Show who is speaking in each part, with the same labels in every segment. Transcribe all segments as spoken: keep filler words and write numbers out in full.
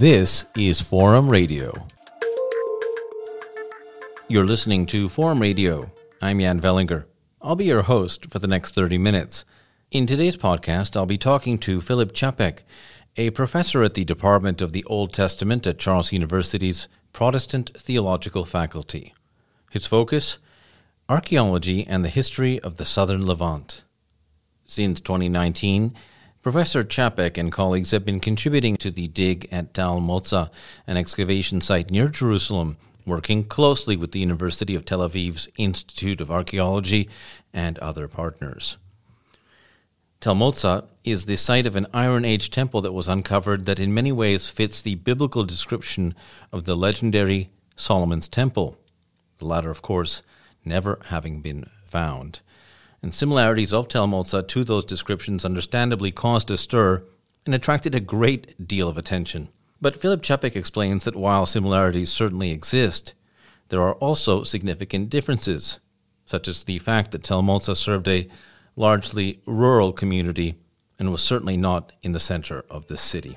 Speaker 1: This is Forum Radio. You're listening to Forum Radio. I'm Jan Vellinger. I'll be your host for the next thirty minutes. In today's podcast, I'll be talking to Filip Čapek, a professor at the Department of the Old Testament at Charles University's Protestant Theological Faculty. His focus? Archaeology and the history of the southern Levant. Since twenty nineteen, Professor Čapek and colleagues have been contributing to the dig at Tal Motza, an excavation site near Jerusalem, working closely with the University of Tel Aviv's Institute of Archaeology and other partners. Tal Motza is the site of an Iron Age temple that was uncovered that in many ways fits the biblical description of the legendary Solomon's Temple, the latter, of course, never having been found. And similarities of Tal Motza to those descriptions understandably caused a stir and attracted a great deal of attention. But Filip Čapek explains that while similarities certainly exist, there are also significant differences, such as the fact that Tal Motza served a largely rural community and was certainly not in the center of the city.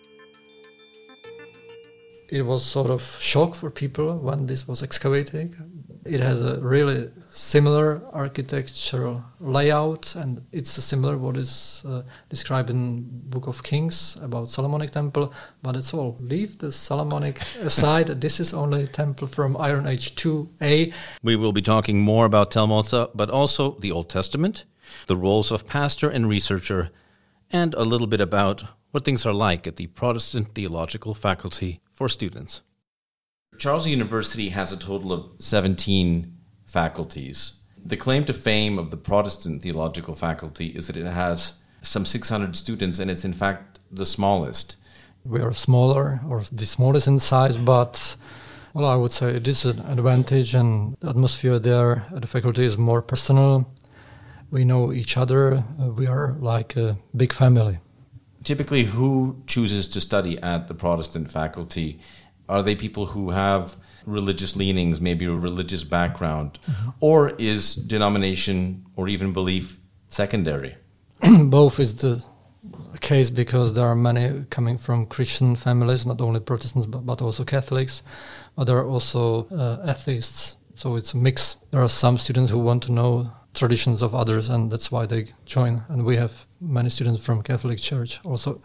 Speaker 2: It was sort of shock for people when this was excavated. It has a really similar architectural layout, and it's similar what is uh, described in Book of Kings about Solomonic Temple, but it's all. Leave the Solomonic aside. This is only a temple from Iron Age two A.
Speaker 1: We will be talking more about Tal Motza, but also the Old Testament, the roles of pastor and researcher, and a little bit about what things are like at the Protestant Theological Faculty for students. Charles University has a total of seventeen faculties. The claim to fame of the Protestant Theological Faculty is that it has some six hundred students, and it's in fact the smallest.
Speaker 2: We are smaller, or the smallest in size, but well, I would say it is an advantage, and the atmosphere there at the faculty is more personal. We know each other. Uh, we are like a big family.
Speaker 1: Typically, who chooses to study at the Protestant faculty? Are they people who have religious leanings, maybe a religious background? Mm-hmm. Or is denomination or even belief secondary?
Speaker 2: Both is the case, because there are many coming from Christian families, not only Protestants but, but also Catholics, but there are also uh, atheists. So it's a mix. There are some students who want to know traditions of others, and that's why they join. And we have many students from Catholic Church also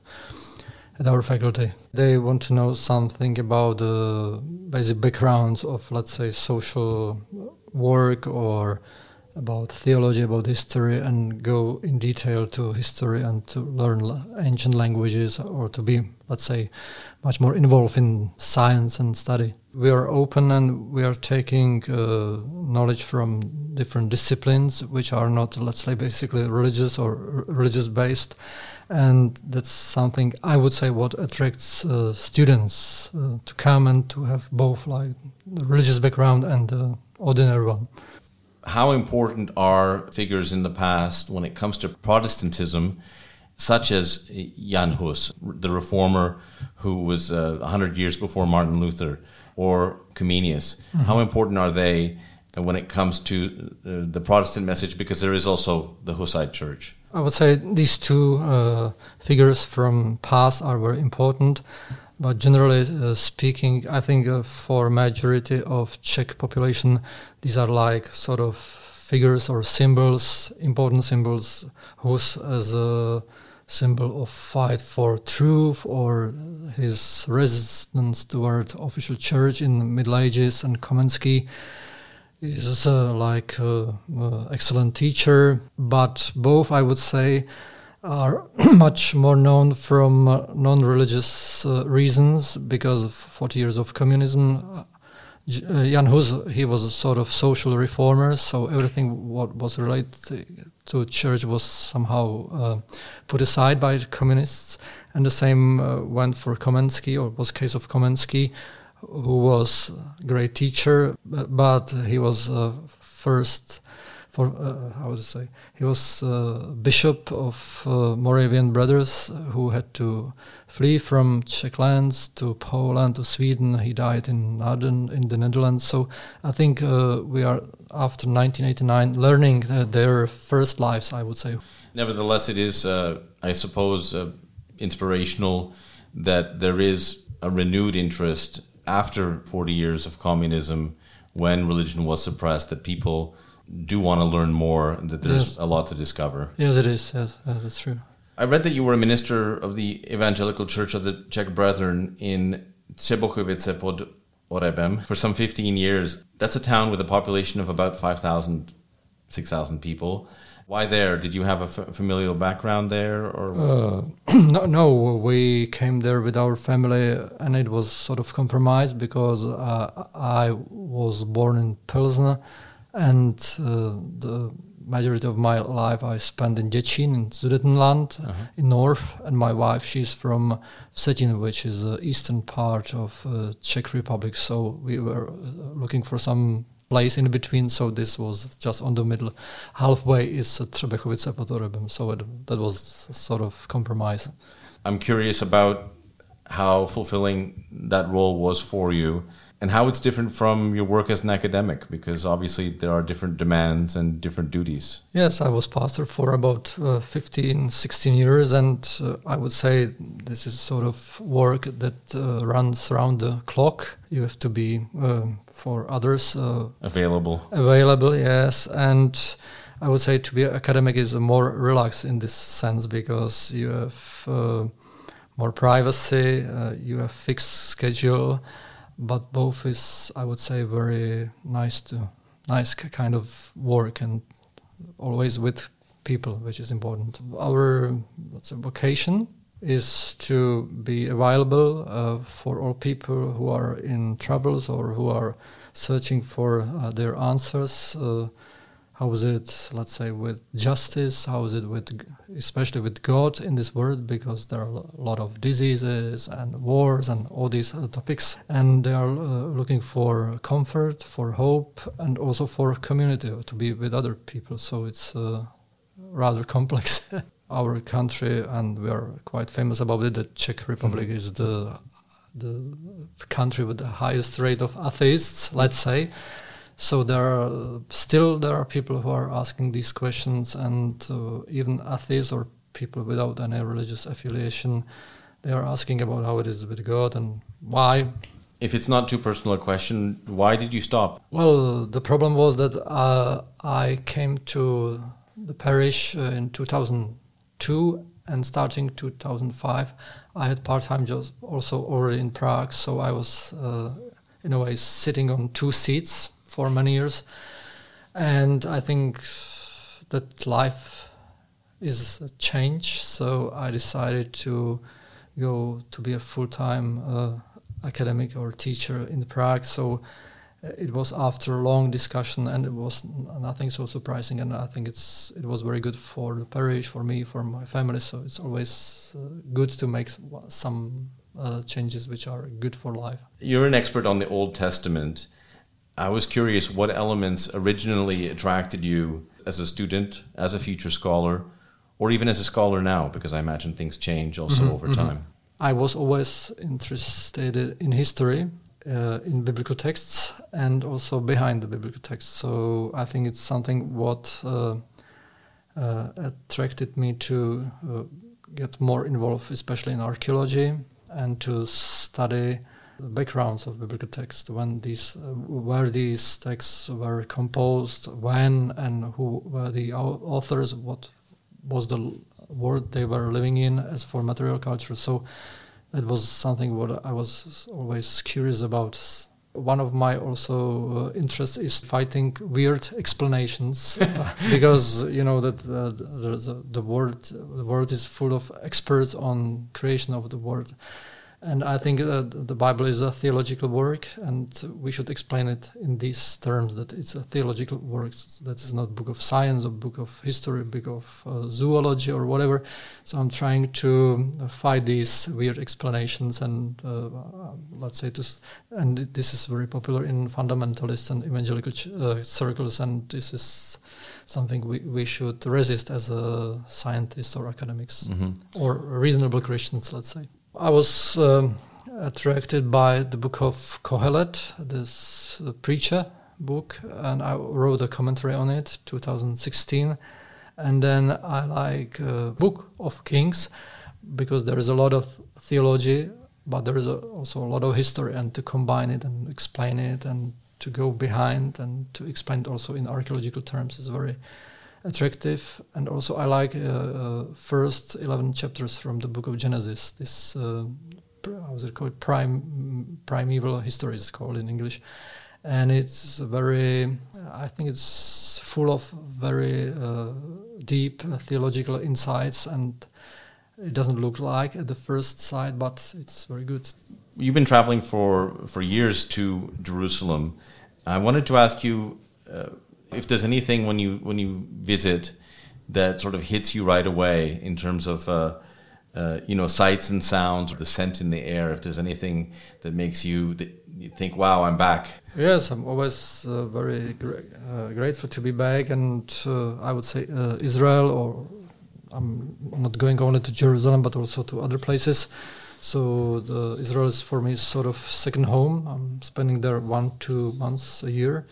Speaker 2: at our faculty. They want to know something about the basic backgrounds of, let's say, social work or about theology, about history, and go in detail to history and to learn ancient languages, or to be, let's say, much more involved in science and study. We are open, and we are taking uh, knowledge from different disciplines, which are not, let's say, basically religious or r- religious-based. And that's something, I would say, what attracts uh, students uh, to come and to have both, like, the religious background and the ordinary one.
Speaker 1: How important are figures in the past when it comes to Protestantism, such as Jan Hus, the reformer who was uh, one hundred years before Martin Luther, or Comenius? Mm-hmm. How important are they when it comes to uh, the Protestant message, because there is also the Hussite Church?
Speaker 2: I would say these two uh, figures from past are very important, but generally uh, speaking, I think uh, for majority of Czech population, these are like sort of figures or symbols, important symbols, Hus as a symbol of fight for truth, or his resistance toward official church in the Middle Ages, and Komensky is uh, like uh, uh, excellent teacher, but both, I would say, are much more known from uh, non-religious uh, reasons, because of forty years of communism. Uh, Jan Hus, he was a sort of social reformer, so everything what was related to church was somehow uh, put aside by the communists, and the same uh, went for Komensky, or was case of Komensky, who was a great teacher, but he was uh, first, for uh, how would I say, he was uh, bishop of uh, Moravian Brothers, who had to flee from Czech lands to Poland, to Sweden. He died in Naarden in the Netherlands. So I think uh, we are, after nineteen eighty-nine, learning uh, their first lives, I would say.
Speaker 1: Nevertheless, it is, uh, I suppose, uh, inspirational that there is a renewed interest after forty years of communism, when religion was suppressed, that people do want to learn more, and that there's yes. a lot to discover.
Speaker 2: Yes, it is. Yes, yes, that's true.
Speaker 1: I read that you were a minister of the Evangelical Church of the Czech Brethren in Třebochovice pod Orebem for some fifteen years. That's a town with a population of about five thousand, six thousand people. Why there? Did you have a f- familial background there? Or
Speaker 2: uh, no, no, we came there with our family, and it was sort of compromised because uh, I was born in Pilsner, and uh, the majority of my life I spent in Děčín, in Sudetenland, uh-huh. in north, and my wife, she's from Vsetín, which is the eastern part of uh, Czech Republic, so we were looking for some place in between, so this was just on the middle. Halfway is Třebochovice pod Orebem, so it, that was a sort of compromise.
Speaker 1: I'm curious about how fulfilling that role was for you, and how it's different from your work as an academic, because obviously there are different demands and different duties.
Speaker 2: Yes, I was pastor for about uh, fifteen, sixteen years, and uh, I would say this is sort of work that uh, runs around the clock. You have to be uh, for others uh,
Speaker 1: available.
Speaker 2: Available, yes, and I would say to be an academic is more relaxed in this sense, because you have uh, more privacy, uh, you have fixed schedule. But both is, I would say, very nice to nice kind of work, and always with people, which is important. Our let's say, vocation is to be available uh, for all people who are in troubles or who are searching for uh, their answers. Uh, how is it, let's say, with justice? How is it with, especially with God in this world? Because there are a lot of diseases and wars and all these other topics. And they are uh, looking for comfort, for hope, and also for community, to be with other people. So it's uh, rather complex. Our country, and we are quite famous about it, the Czech Republic mm-hmm. is the the country with the highest rate of atheists, let's say. So there are still there are people who are asking these questions, and uh, even atheists or people without any religious affiliation, they are asking about how it is with God and why.
Speaker 1: If it's not too personal a question, why did you stop?
Speaker 2: Well, the problem was that uh, I came to the parish uh, in two thousand two, and starting two thousand five, I had part-time jobs also already in Prague, so I was uh, in a way sitting on two seats for many years, and I think that life is a change, so I decided to go to be a full-time uh, academic or teacher in Prague. So it was after a long discussion, and it was nothing so surprising, and I think it's it was very good for the parish, for me, for my family, so it's always uh, good to make some uh, changes which are good for life.
Speaker 1: You're an expert on the Old Testament. I was curious what elements originally attracted you as a student, as a future scholar, or even as a scholar now, because I imagine things change also mm-hmm, over mm-hmm. time.
Speaker 2: I was always interested in history, uh, in biblical texts, and also behind the biblical texts. So I think it's something what uh, uh, attracted me to uh, get more involved, especially in archaeology, and to study the backgrounds of biblical texts, when these, uh, where these texts were composed, when and who were the authors, what was the world they were living in as for material culture. So that was something what I was always curious about. One of my also uh, interests is fighting weird explanations, because you know that uh, the, the world the world is full of experts on creation of the world. And I think uh, the Bible is a theological work, and we should explain it in these terms, that it's a theological work. That is not book of science or book of history, book of uh, zoology or whatever. So I'm trying to fight these weird explanations, and uh, let's say, to, and this is very popular in fundamentalist and evangelical ch- uh, circles, and this is something we, we should resist as a scientists or academics, mm-hmm. or reasonable Christians, let's say. I was um, attracted by the book of Kohelet, this uh, preacher book, and I wrote a commentary on it, two thousand sixteen. And then I like uh, Book of Kings, because there is a lot of theology, but there is a, also a lot of history, and to combine it and explain it and to go behind and to explain it also in archaeological terms is very attractive. And also I like uh, uh, first eleven chapters from the book of Genesis. This uh, how is it called? Prime primeval history is called in English, and it's very. I think it's full of very uh, deep uh, theological insights, and it doesn't look like at the first sight, but it's very good.
Speaker 1: You've been traveling for for years to Jerusalem. I wanted to ask you uh, if there's anything when you when you visit that sort of hits you right away in terms of uh, uh, you know, sights and sounds, the scent in the air. If there's anything that makes you that you think, "Wow, I'm back."
Speaker 2: Yes, I'm always uh, very gra- uh, grateful to be back, and uh, I would say uh, Israel, or I'm not going only to Jerusalem but also to other places. So the Israel is for me sort of second home. I'm spending there one, two months a year,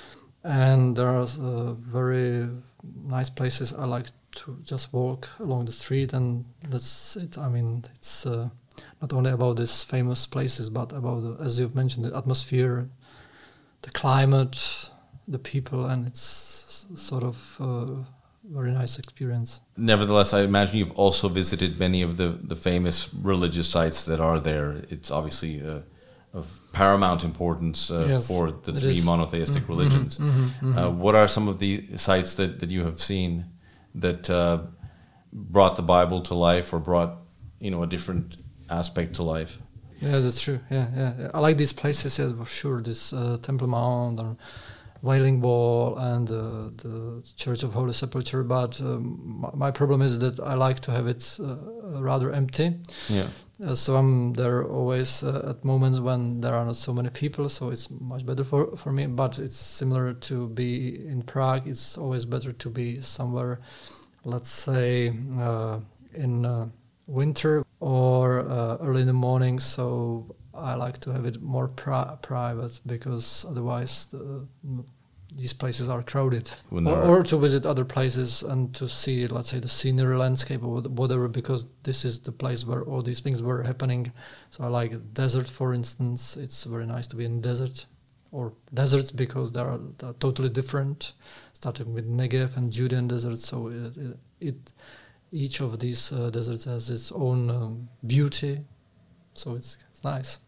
Speaker 2: and there are uh, very nice places. I like to just walk along the street, and that's it. I mean, it's uh, not only about these famous places, but about, the, as you've mentioned, the atmosphere, the climate, the people, and it's sort of a very nice experience.
Speaker 1: Nevertheless, I imagine you've also visited many of the, the famous religious sites that are there. It's obviously uh, of paramount importance uh,
Speaker 2: yes,
Speaker 1: for the three
Speaker 2: is.
Speaker 1: monotheistic
Speaker 2: mm-hmm,
Speaker 1: religions.
Speaker 2: Mm-hmm, mm-hmm.
Speaker 1: Uh, what are some of the sites that, that you have seen that uh, brought the Bible to life, or brought, you know, a different aspect to life?
Speaker 2: Yeah, that's true. Yeah, yeah, yeah. I like these places, yeah, for sure. This uh, Temple Mount and Wailing Wall and uh, the Church of Holy Sepulchre. But um, my, my problem is that I like to have it uh, rather empty.
Speaker 1: Yeah.
Speaker 2: Uh, so I'm there always uh, at moments when there are not so many people, so it's much better for, for me. But it's similar to be in Prague. It's always better to be somewhere, let's say, uh, in uh, winter or uh, early in the morning. So I like to have it more pri- private, because otherwise the, these places are crowded. Or,
Speaker 1: are
Speaker 2: or to visit other places and to see, let's say, the scenery, landscape, or whatever, because this is the place where all these things were happening. So I like desert, for instance. It's very nice to be in desert, or deserts, because they are, they are totally different, starting with Negev and Judean desert. So it, it, it each of these uh, deserts has its own um, beauty. So it's, it's nice.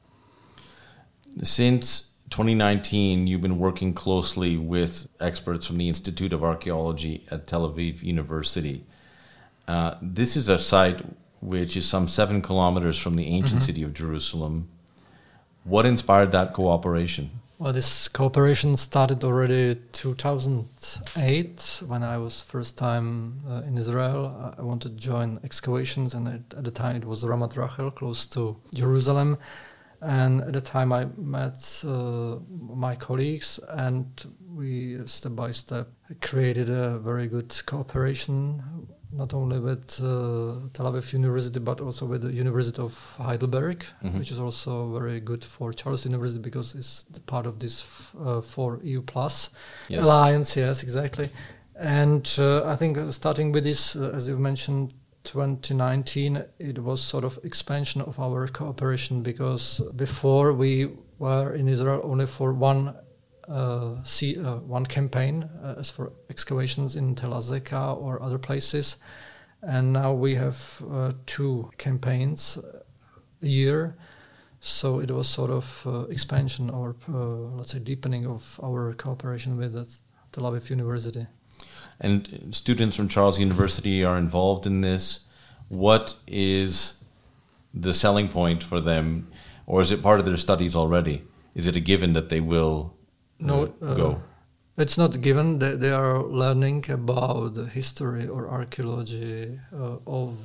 Speaker 1: Since twenty nineteen, you've been working closely with experts from the Institute of Archaeology at Tel Aviv University. Uh, this is a site which is some seven kilometers from the ancient mm-hmm. city of Jerusalem. What inspired that cooperation?
Speaker 2: Well, this cooperation started already two thousand eight, when I was first time uh, in Israel. I wanted to join excavations, and at, at the time it was Ramat Rachel, close to Jerusalem. And at the time I met uh, my colleagues, and we step by step created a very good cooperation, not only with uh, Tel Aviv University, but also with the University of Heidelberg, mm-hmm. which is also very good for Charles University, because it's part of this uh, four E U plus yes. alliance. Yes, exactly. And uh, I think starting with this, uh, as you've mentioned, twenty nineteen, it was sort of expansion of our cooperation, because before we were in Israel only for one uh, see, uh, one campaign uh, as for excavations in Tel Azeka or other places, and now we have uh, two campaigns a year. So it was sort of uh, expansion, or uh, let's say deepening of our cooperation with the Tel Aviv University.
Speaker 1: And students from Charles University are involved in this. What is the selling point for them, or is it part of their studies already? Is it a given that they will uh,
Speaker 2: no, uh,
Speaker 1: go?
Speaker 2: It's not given. They, they are learning about the history or archaeology uh, of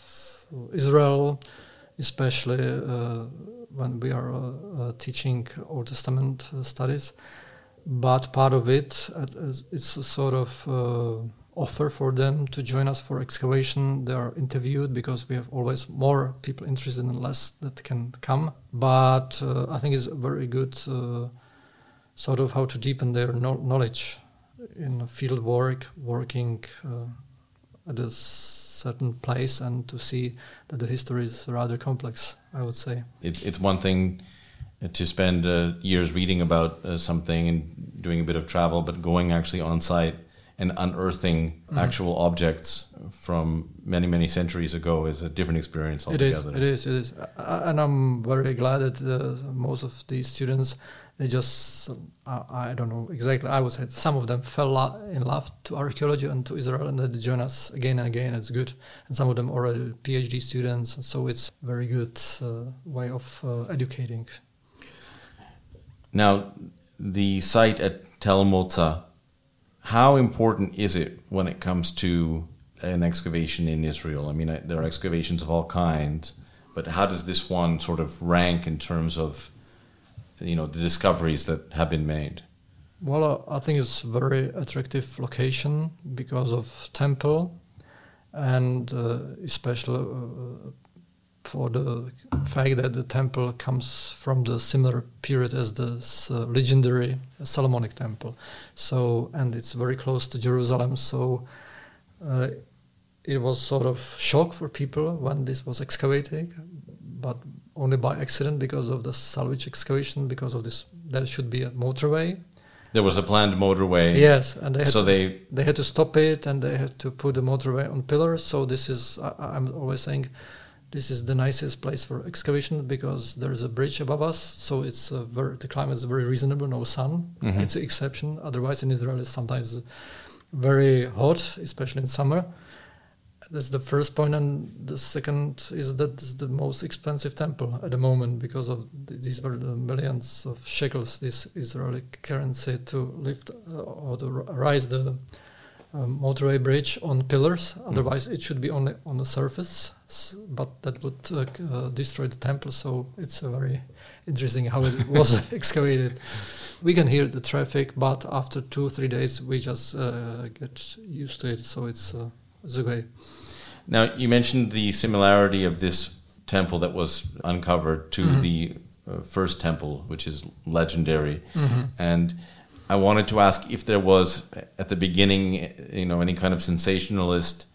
Speaker 2: Israel, especially uh, when we are uh, uh, teaching Old Testament uh, studies. But part of it, uh, it's a sort of uh, offer for them to join us for excavation. They are interviewed, because we have always more people interested and less that can come. But uh, I think it's a very good uh, sort of how to deepen their no- knowledge in field work, working uh, at the certain place and to see that the history is rather complex, I would say.
Speaker 1: It, it's one thing to spend uh, years reading about uh, something and doing a bit of travel, but going actually on site and unearthing mm. actual objects from many, many centuries ago is a different experience altogether.
Speaker 2: It is, it is, it is. Uh, and I'm very glad that uh, most of these students, they just, uh, I don't know exactly, I would say some of them fell lo- in love to archaeology and to Israel, and they join us again and again. It's good. And some of them already PhD students, so it's very good uh, way of uh, educating.
Speaker 1: Now, the site at Tel Motza, how important is it when it comes to an excavation in Israel? I mean, I, there are excavations of all kinds, but how does this one sort of rank in terms of, you know, the discoveries that have been made?
Speaker 2: Well, uh, I think it's a very attractive location because of temple, and uh, especially uh, for the fact that the temple comes from the similar period as the uh, legendary Solomonic temple. So, and it's very close to Jerusalem. So, uh, it was sort of shock for people when this was excavated, but only by accident because of the salvage excavation. Because of this, there should be a motorway.
Speaker 1: There was a planned motorway.
Speaker 2: Yes, and they had
Speaker 1: so
Speaker 2: to,
Speaker 1: they
Speaker 2: they had to stop it, and they had to put the motorway on pillars. So this is, I, I'm always saying, this is the nicest place for excavation because there is a bridge above us, so it's uh, very, the climate is very reasonable, no sun. Mm-hmm. It's an exception. Otherwise, in Israel, it's sometimes very hot, especially in summer. That's the first point, and the second is that it's the most expensive temple at the moment because of th- these were the millions of shekels, this Israeli currency, to lift uh, or to r- rise the Um, motorway bridge on pillars. Otherwise, mm. it should be only on the surface, s- but that would uh, uh, destroy the temple. So it's a very interesting how it was excavated. We can hear the traffic, but after two three days, we just uh, get used to it. So it's uh, it's okay.
Speaker 1: Now, you mentioned the similarity of this temple that was uncovered to mm-hmm. the uh, first temple, which is legendary, mm-hmm. and I wanted to ask if there was, at the beginning, you know, any kind of sensationalist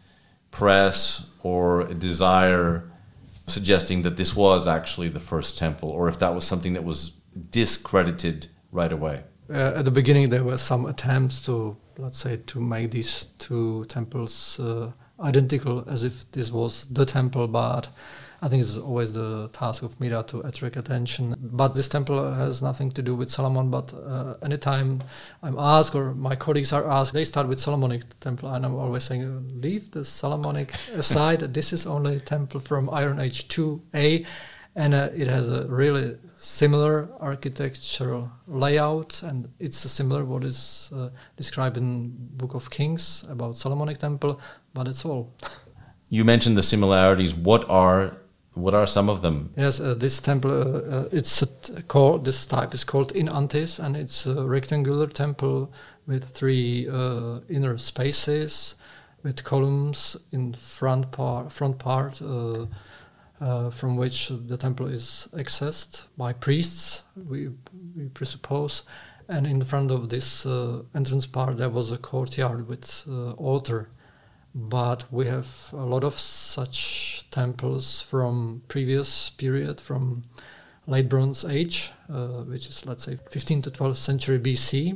Speaker 1: press or a desire suggesting that this was actually the first temple, or if that was something that was discredited right away.
Speaker 2: Uh, at the beginning, there were some attempts to, let's say, to make these two temples uh, identical, as if this was the temple, but I think it's always the task of media to attract attention. But this temple has nothing to do with Solomon, but uh, anytime I'm asked or my colleagues are asked, they start with Solomonic temple, and I'm always saying, leave the Solomonic aside. This is only a temple from Iron Age two A, and uh, it has a really similar architectural layout, and it's similar what is uh, described in Book of Kings about Solomonic temple, but it's all.
Speaker 1: You mentioned the similarities. What are What are some of them?
Speaker 2: Yes, uh, this temple, uh, uh, it's a t- called, this type is called In Antis, and it's a rectangular temple with three uh, inner spaces, with columns in front part, front part, uh, uh, from which the temple is accessed by priests, we we presuppose. And in the front of this uh, entrance part, there was a courtyard with uh, altar. But we have a lot of such temples from previous period, from late Bronze Age, uh, which is, let's say, fifteenth to twelfth century B C.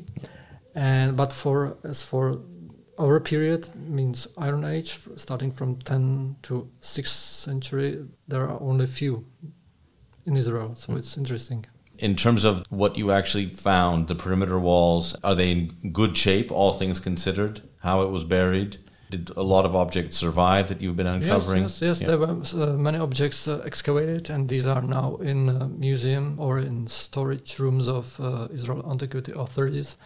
Speaker 2: And but for as for our period, means Iron Age, starting from tenth to sixth century, there are only few in Israel. So mm. it's interesting.
Speaker 1: In terms of what you actually found, the perimeter walls, are they in good shape, all things considered, how it was buried? Did a lot of objects survive that you've been uncovering?
Speaker 2: Yes, yes, yes. Yeah. There were uh, many objects uh, excavated, and these are now in a museum or in storage rooms of uh, Israel antiquity authorities.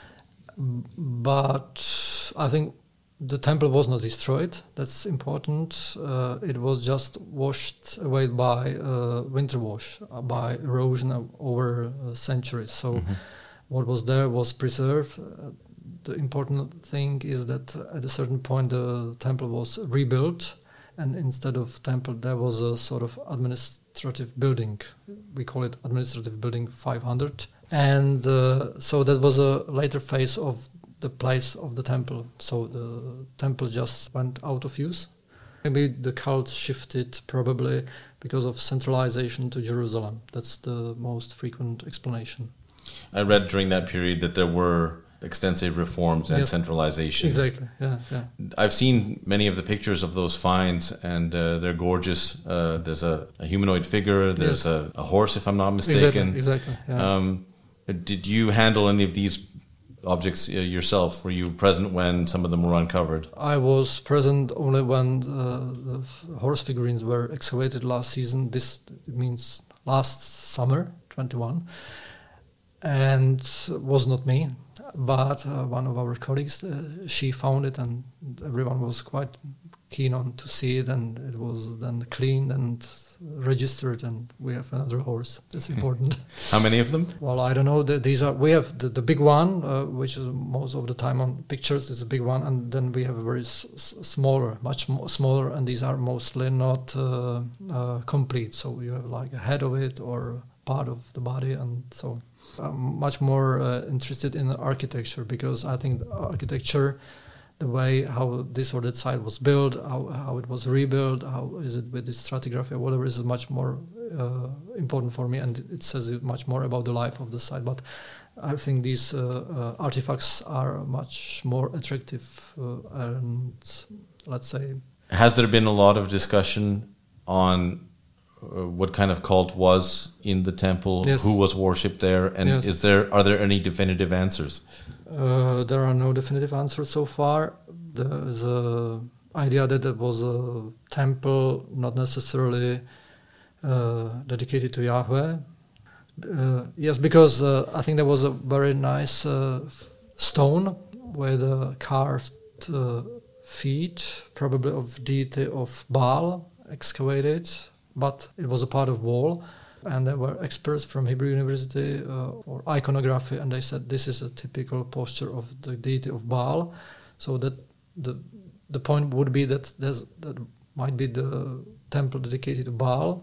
Speaker 2: But I think the temple was not destroyed. That's important. Uh, it was just washed away by uh, winter wash, uh, by erosion over uh, centuries. So mm-hmm. what was there was preserved. Uh, The important thing is that at a certain point the temple was rebuilt, and instead of temple there was a sort of administrative building. We call it administrative building five hundred. And uh, so that was a later phase of the place of the temple. So the temple just went out of use Maybe the cult shifted probably because of centralization to Jerusalem. That's the most frequent explanation.
Speaker 1: I read during that period that there were extensive reforms and
Speaker 2: yes.
Speaker 1: centralization.
Speaker 2: Exactly, yeah, yeah.
Speaker 1: I've seen many of the pictures of those finds, and uh, they're gorgeous. Uh, there's a, a humanoid figure, there's yes. a, a horse, if I'm not mistaken.
Speaker 2: Exactly, exactly, yeah.
Speaker 1: Um, did you handle any of these objects uh, yourself? Were you present when some of them were uncovered?
Speaker 2: I was present only when uh, the horse figurines were excavated last season. This means last summer, twenty-one. And it was not me, but uh, one of our colleagues, uh, she found it, and everyone was quite keen on to see it, and it was then cleaned and registered, and we have another horse. That's important.
Speaker 1: How many of them?
Speaker 2: Well, I don't know. The, these are we have the, the big one, uh, which is most of the time on pictures is a big one, and then we have a very s- s- smaller, much more smaller, and these are mostly not uh, uh, complete. So you have like a head of it or part of the body, and so. I'm much more uh, interested in architecture, because I think the architecture, the way how this or that site was built, how, how it was rebuilt, how is it with the stratigraphy or whatever, is much more uh, important for me, and it says much more about the life of the site. But I think these uh, uh, artifacts are much more attractive uh, and, let's say...
Speaker 1: Has there been a lot of discussion on Uh, what kind of cult was in the temple,
Speaker 2: yes.
Speaker 1: who was worshipped there, and
Speaker 2: yes.
Speaker 1: is there are there any definitive answers?
Speaker 2: Uh, there are no definitive answers so far. There is a idea that it was a temple not necessarily uh, dedicated to Yahweh. Uh, yes, because uh, I think there was a very nice uh, stone with uh, carved uh, feet, probably of deity of Baal, excavated. But it was a part of wall, and there were experts from Hebrew University uh, or iconography, and they said this is a typical posture of the deity of Baal. So that the the point would be that there's, that might be the temple dedicated to Baal,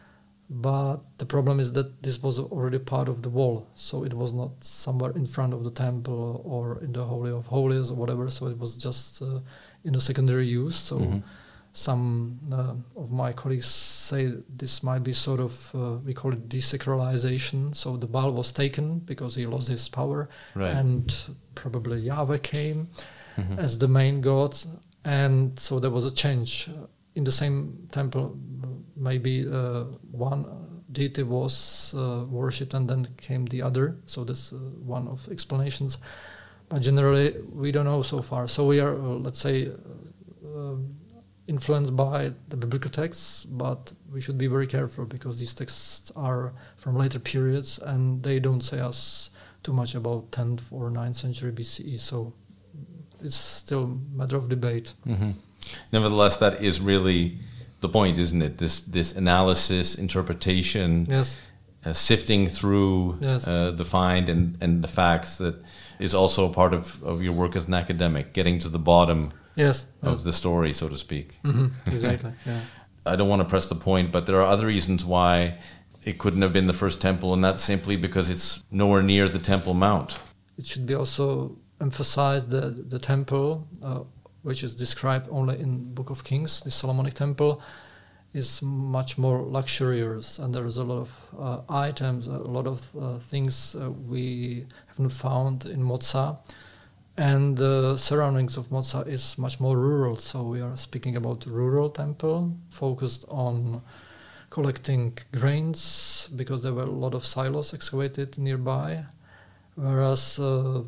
Speaker 2: but the problem is that this was already part of the wall, so it was not somewhere in front of the temple or in the Holy of Holies or whatever, so it was just uh, in a secondary use. So. Mm-hmm. Some uh, of my colleagues say this might be sort of, uh, we call it desacralization. So the Baal was taken because he lost his power,
Speaker 1: right.
Speaker 2: and probably Yahweh came
Speaker 1: mm-hmm.
Speaker 2: as the main god. And so there was a change. In the same temple, maybe uh, one deity was uh, worshipped and then came the other. So that's uh, one of explanations. But generally, we don't know so far. So we are, uh, let's say, uh, influenced by the biblical texts, but we should be very careful because these texts are from later periods and they don't say us too much about tenth or ninth century B C E, so it's still a matter of debate.
Speaker 1: Mm-hmm. Nevertheless, that is really the point, isn't it? This this analysis, interpretation,
Speaker 2: yes.
Speaker 1: uh, sifting through
Speaker 2: yes.
Speaker 1: uh, the find and, and the facts, that is also a part of, of your work as an academic, getting to the bottom
Speaker 2: Yes,
Speaker 1: of
Speaker 2: yes.
Speaker 1: the story, so to speak.
Speaker 2: Mm-hmm. Exactly. Yeah.
Speaker 1: I don't want to press the point, but there are other reasons why it couldn't have been the first temple, and that's simply because it's nowhere near the Temple Mount.
Speaker 2: It should be also emphasized that the temple, uh, which is described only in Book of Kings, the Solomonic temple, is much more luxurious, and there is a lot of uh, items, a lot of uh, things uh, we haven't found in Moza. And the surroundings of Moza is much more rural, so we are speaking about rural temple, focused on collecting grains, because there were a lot of silos excavated nearby, whereas uh,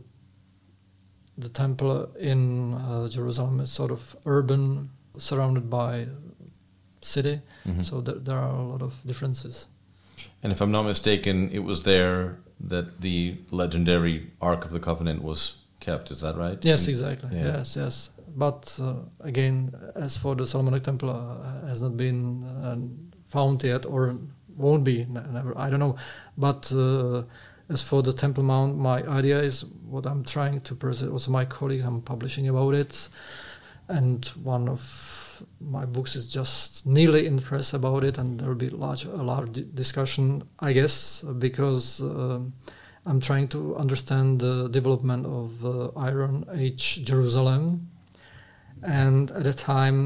Speaker 2: the temple in uh, Jerusalem is sort of urban, surrounded by city, mm-hmm. so th- there are a lot of differences.
Speaker 1: And if I'm not mistaken, it was there that the legendary Ark of the Covenant was kept, is that right?
Speaker 2: Yes, exactly.
Speaker 1: Yeah.
Speaker 2: Yes, yes. But uh, again, as for the Solomonic temple, uh, has not been uh, found yet, or won't be, n- never. I don't know. But uh, as for the Temple Mount, my idea is what I'm trying to present. Also, my colleagues, I'm publishing about it, and one of my books is just nearly in the press about it, and there will be large, a large discussion, I guess, because. Uh, I'm trying to understand the development of uh, Iron Age Jerusalem, and at the time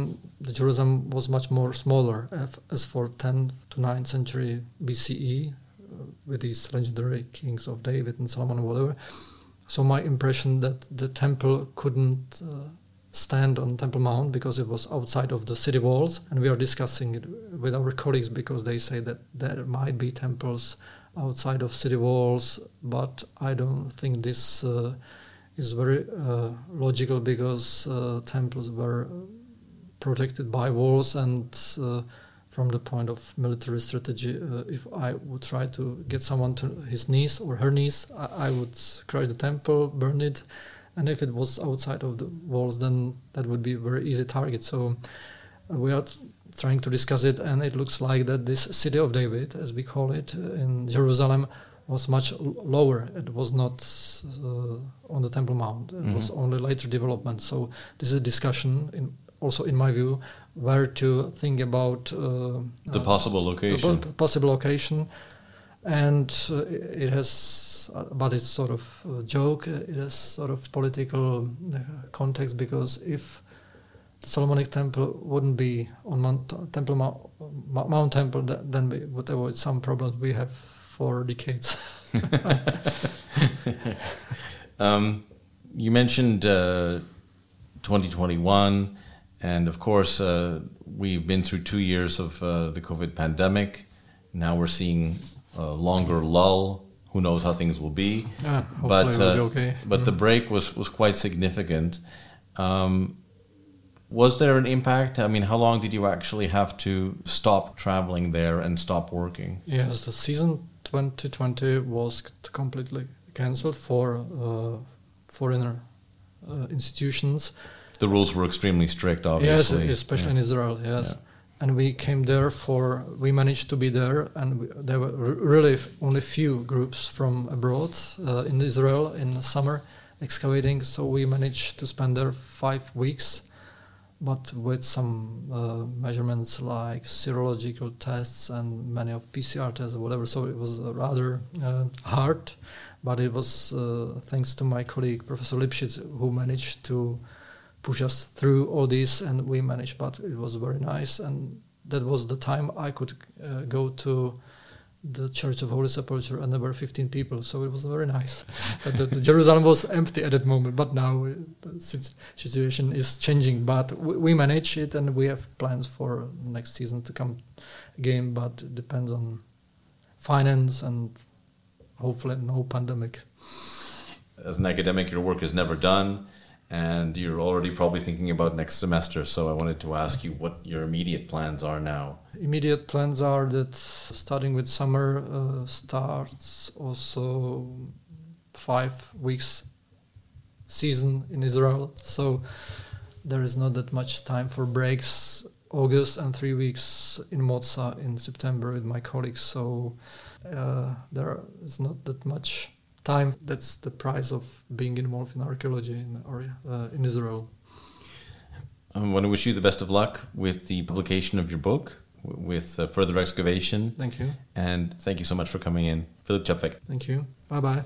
Speaker 2: the Jerusalem was much more smaller as for tenth to ninth century B C E, uh, with these legendary kings of David and Solomon or whatever. So my impression that the temple couldn't uh, stand on Temple Mount because it was outside of the city walls, and we are discussing it with our colleagues because they say that there might be temples outside of city walls, but I don't think this uh, is very uh, logical because uh, temples were protected by walls, and uh, from the point of military strategy, uh, if I would try to get someone to his knees or her knees, I, I would crush the temple, burn it, and if it was outside of the walls, then that would be a very easy target. So uh, we are t- trying to discuss it, and it looks like that this city of David, as we call it, uh, in Jerusalem, was much l- lower. It was not uh, on the Temple Mount. It mm-hmm. was only later development. So this is a discussion, in, also in my view, where to think about uh,
Speaker 1: the uh, possible location.
Speaker 2: The po- possible location, and uh, it has, uh, but it's sort of a joke. It has sort of political uh, context because if the Solomonic Temple wouldn't be on Mount Temple Mount, Mount Temple, then we would avoid some problems we have for decades.
Speaker 1: um, you mentioned uh, twenty twenty-one, and of course uh, we've been through two years of uh, the COVID pandemic. Now we're seeing a longer lull. Who knows how things will be?
Speaker 2: Yeah,
Speaker 1: but
Speaker 2: uh,
Speaker 1: uh,
Speaker 2: okay.
Speaker 1: but mm. the break was was quite significant. Um, Was there an impact? I mean, how long did you actually have to stop traveling there and stop working?
Speaker 2: Yes, the season twenty twenty was completely cancelled for uh, foreigner uh, institutions.
Speaker 1: The rules were extremely strict, obviously.
Speaker 2: Yes, especially
Speaker 1: yeah.
Speaker 2: in Israel, yes.
Speaker 1: Yeah.
Speaker 2: And we came there for, we managed to be there, and we, there were r- really f- only few groups from abroad uh, in Israel in the summer excavating, so we managed to spend there five weeks. But with some uh, measurements like serological tests and many of P C R tests or whatever, so it was uh, rather uh, hard. But it was uh, thanks to my colleague Professor Lipschitz who managed to push us through all this, and we managed. But it was very nice, and that was the time I could uh, go to the Church of Holy Sepulchre, and there were fifteen people, so it was very nice. But the, the Jerusalem was empty at that moment, but now uh, the situation is changing. But we, we manage it, and we have plans for next season to come again, but it depends on finance and hopefully no pandemic.
Speaker 1: As an academic, your work is never done, and you're already probably thinking about next semester, so I wanted to ask you what your immediate plans are now.
Speaker 2: Immediate plans are that starting with summer uh, starts also five weeks season in Israel, so there is not that much time for breaks. August and three weeks in Moza in September with my colleagues, so uh, there is not that much time. That's the price of being involved in archaeology in, or, uh, in Israel.
Speaker 1: I want to wish you the best of luck with the publication of your book, with uh, further excavation.
Speaker 2: Thank you.
Speaker 1: And thank you so much for coming in. Filip Čapek.
Speaker 2: Thank you. Bye-bye.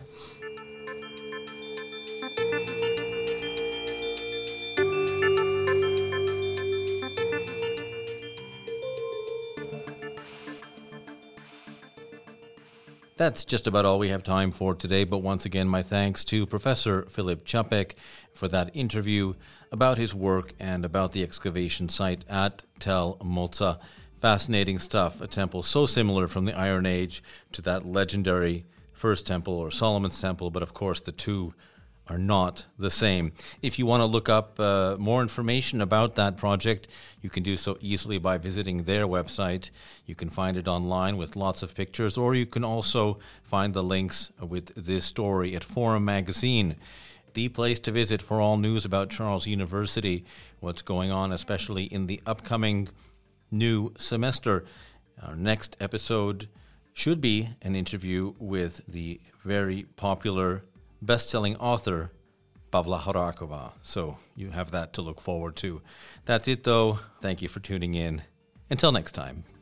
Speaker 1: That's just about all we have time for today, but once again, my thanks to Professor Filip Čapek for that interview about his work and about the excavation site at Tel Moza. Fascinating stuff, a temple so similar from the Iron Age to that legendary First Temple or Solomon's Temple, but of course the two are not the same. If you want to look up uh, more information about that project, you can do so easily by visiting their website. You can find it online with lots of pictures, or you can also find the links with this story at Forum Magazine, the place to visit for all news about Charles University, what's going on, especially in the upcoming new semester. Our next episode should be an interview with the very popular best-selling author Pavla Horakova. So you have that to look forward to. That's it, though. Thank you for tuning in. Until next time.